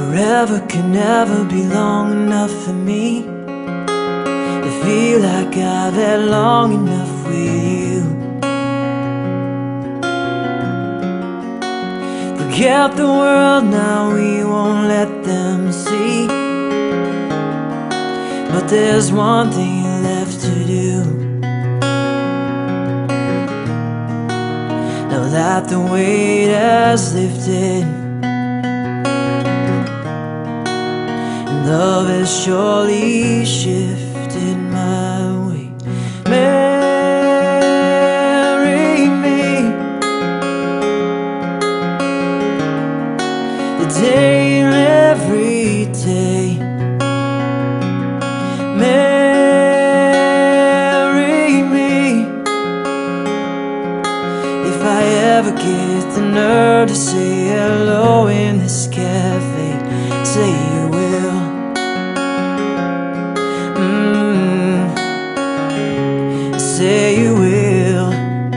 Forever can never be long enough for me to feel like I've had long enough with you. Forget the world now, we won't let them see. But there's one thing left to do. Now that the weight has lifted, love has surely shifted my way. Marry me the day and every day. Marry me if I ever get the nerve to say hello in this cafe. Say you will. Say you will.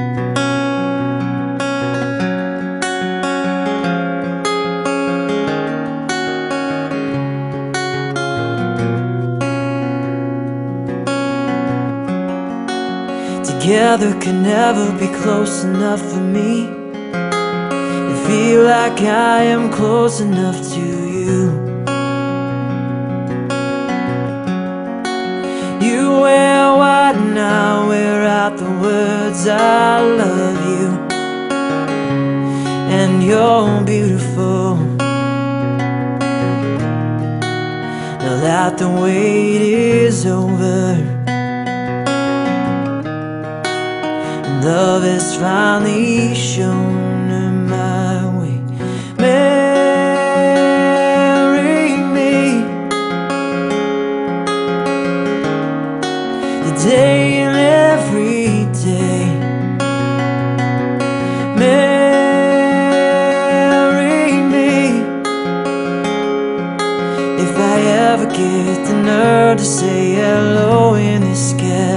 Together can never be close enough for me to feel like I am close enough to you. You wear white and I wear out the words I love you. And you're beautiful. Now that the wait is over, love has finally shown my way. Marry me the day and every day. Marry me if I ever get the nerve to say hello in this cafe.